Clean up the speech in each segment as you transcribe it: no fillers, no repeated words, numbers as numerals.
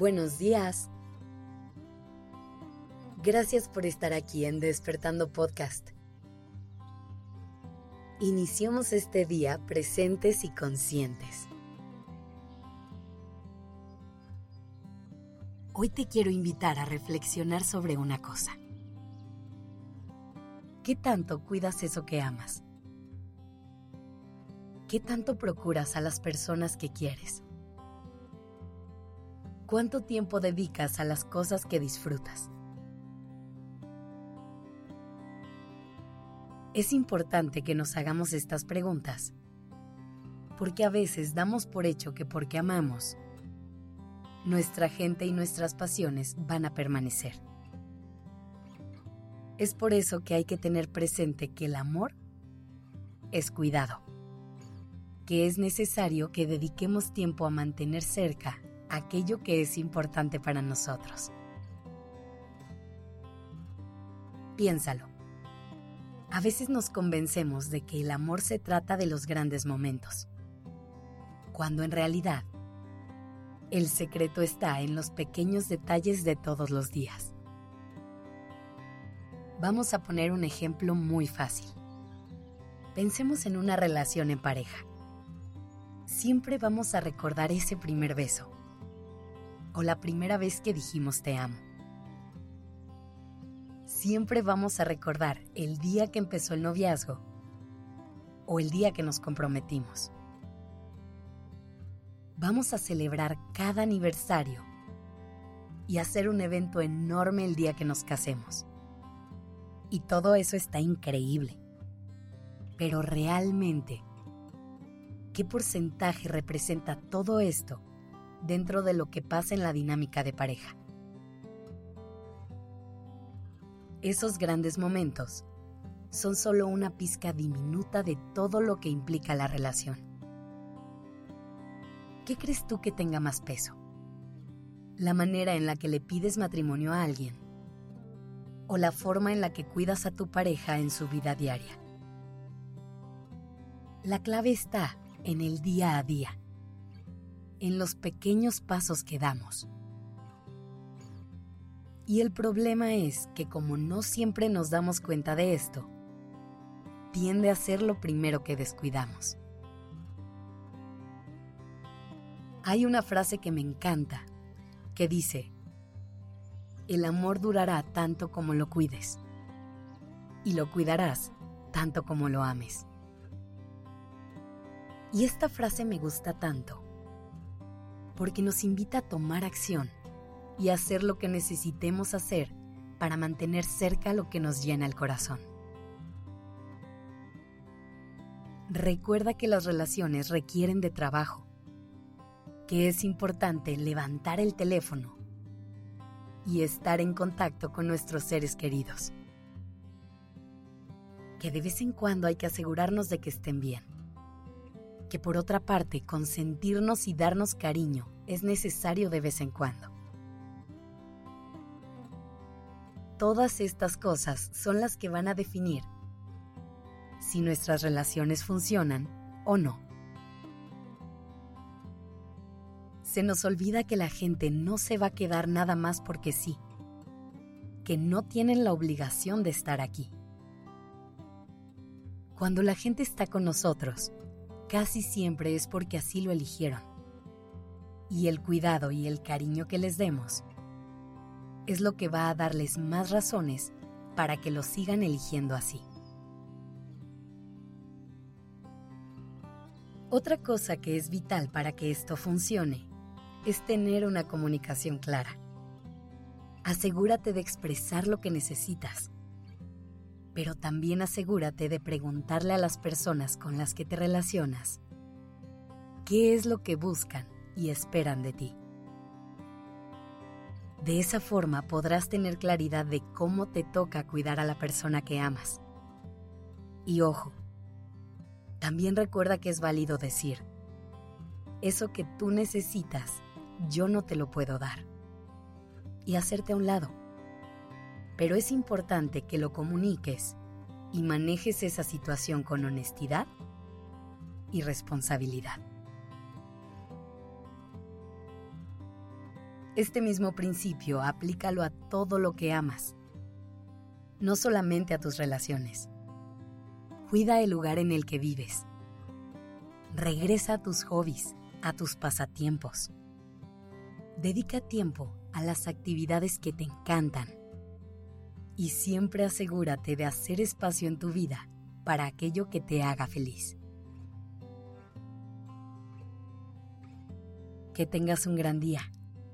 Buenos días. Gracias por estar aquí en Despertando Podcast. Iniciamos este día presentes y conscientes. Hoy te quiero invitar a reflexionar sobre una cosa. ¿Qué tanto cuidas eso que amas? ¿Qué tanto procuras a las personas que quieres? ¿Cuánto tiempo dedicas a las cosas que disfrutas? Es importante que nos hagamos estas preguntas, porque a veces damos por hecho que porque amamos, nuestra gente y nuestras pasiones van a permanecer. Es por eso que hay que tener presente que el amor es cuidado, que es necesario que dediquemos tiempo a mantener cerca aquello que es importante para nosotros. Piénsalo. A veces nos convencemos de que el amor se trata de los grandes momentos, cuando en realidad el secreto está en los pequeños detalles de todos los días. Vamos a poner un ejemplo muy fácil. Pensemos en una relación en pareja. Siempre vamos a recordar ese primer beso, o la primera vez que dijimos te amo. Siempre vamos a recordar el día que empezó el noviazgo o el día que nos comprometimos. Vamos a celebrar cada aniversario y hacer un evento enorme el día que nos casemos. Y todo eso está increíble. Pero realmente, ¿qué porcentaje representa todo esto dentro de lo que pasa en la dinámica de pareja? Esos grandes momentos son solo una pizca diminuta de todo lo que implica la relación. ¿Qué crees tú que tenga más peso? ¿La manera en la que le pides matrimonio a alguien? ¿O la forma en la que cuidas a tu pareja en su vida diaria? La clave está en el día a día, en los pequeños pasos que damos. Y el problema es que como no siempre nos damos cuenta de esto, tiende a ser lo primero que descuidamos. Hay una frase que me encanta, que dice: el amor durará tanto como lo cuides, y lo cuidarás tanto como lo ames. Y esta frase me gusta tanto, porque nos invita a tomar acción y hacer lo que necesitemos hacer para mantener cerca lo que nos llena el corazón. Recuerda que las relaciones requieren de trabajo, que es importante levantar el teléfono y estar en contacto con nuestros seres queridos, que de vez en cuando hay que asegurarnos de que estén bien, que por otra parte consentirnos y darnos cariño es necesario de vez en cuando. Todas estas cosas son las que van a definir si nuestras relaciones funcionan o no. Se nos olvida que la gente no se va a quedar nada más porque sí, que no tienen la obligación de estar aquí. Cuando la gente está con nosotros, casi siempre es porque así lo eligieron. Y el cuidado y el cariño que les demos es lo que va a darles más razones para que lo sigan eligiendo así. Otra cosa que es vital para que esto funcione es tener una comunicación clara. Asegúrate de expresar lo que necesitas, pero también asegúrate de preguntarle a las personas con las que te relacionas qué es lo que buscan y esperan de ti. De esa forma podrás tener claridad de cómo te toca cuidar a la persona que amas. Y ojo, también recuerda que es válido decir: eso que tú necesitas, yo no te lo puedo dar. Y hacerte a un lado. Pero es importante que lo comuniques y manejes esa situación con honestidad y responsabilidad. Este mismo principio aplícalo a todo lo que amas, no solamente a tus relaciones. Cuida el lugar en el que vives. Regresa a tus hobbies, a tus pasatiempos. Dedica tiempo a las actividades que te encantan. Y siempre asegúrate de hacer espacio en tu vida para aquello que te haga feliz. Que tengas un gran día.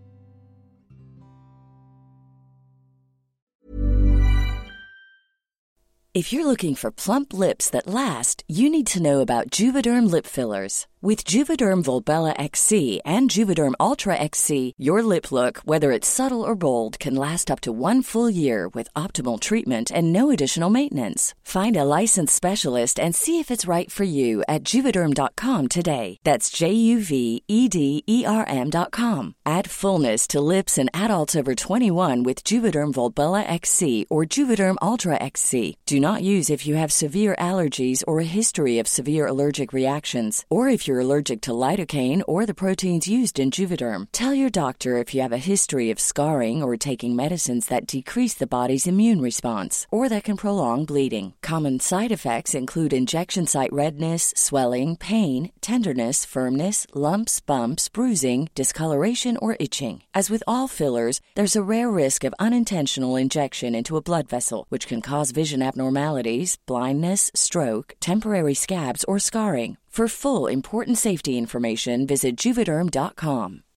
If you're looking for plump lips that last, you need to know about Juvederm lip fillers. With Juvederm Volbella XC and Juvederm Ultra XC, your lip look, whether it's subtle or bold, can last up to 1 full year with optimal treatment and no additional maintenance. Find a licensed specialist and see if it's right for you at Juvederm.com today. That's JUVEDERM.com. Add fullness to lips in adults over 21 with Juvederm Volbella XC or Juvederm Ultra XC. Do not use if you have severe allergies or a history of severe allergic reactions, or if you're allergic to lidocaine or the proteins used in Juvederm. Tell your doctor if you have a history of scarring or taking medicines that decrease the body's immune response or that can prolong bleeding. Common side effects include injection site redness, swelling, pain, tenderness, firmness, lumps, bumps, bruising, discoloration, or itching. As with all fillers, there's a rare risk of unintentional injection into a blood vessel, which can cause vision abnormalities, blindness, stroke, temporary scabs, or scarring. For full, important safety information, visit Juvederm.com.